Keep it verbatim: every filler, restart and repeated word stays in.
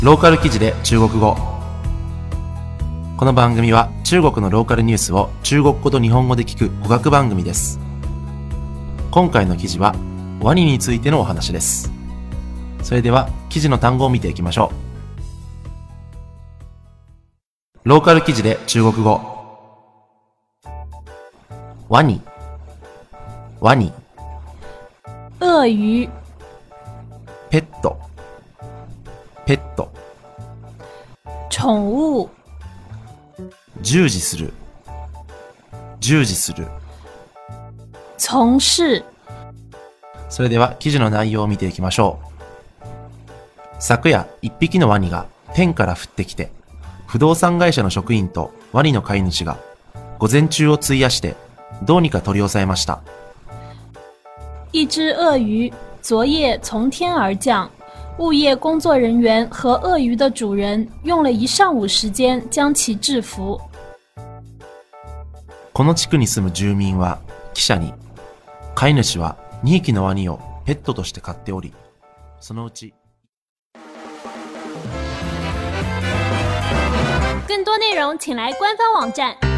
ローカル記事で中国語。この番組は中国のローカルニュースを中国語と日本語で聞く語学番組です。今回の記事はワニについてのお話です。それでは記事の単語を見ていきましょう。ローカル記事で中国語。ワニ、ワニ。 鳄鱼、 ペット、ペット。 宠物、 従事する、従事する。 从事。 それでは記事の内容を見ていきましょう。昨夜、一匹のワニが天から降ってきて、不動産会社の職員とワニの飼い主が午前中を費やしてどうにか取り押さえました。 一只鳄鱼昨夜从天而降，物业工作人员和鳄鱼的主人用了一上午时间将其制服。 この地区に住む住民は記者に、飼い主はにひきのワニをペットとして飼っており、そのうち。 更多内容请来官方网站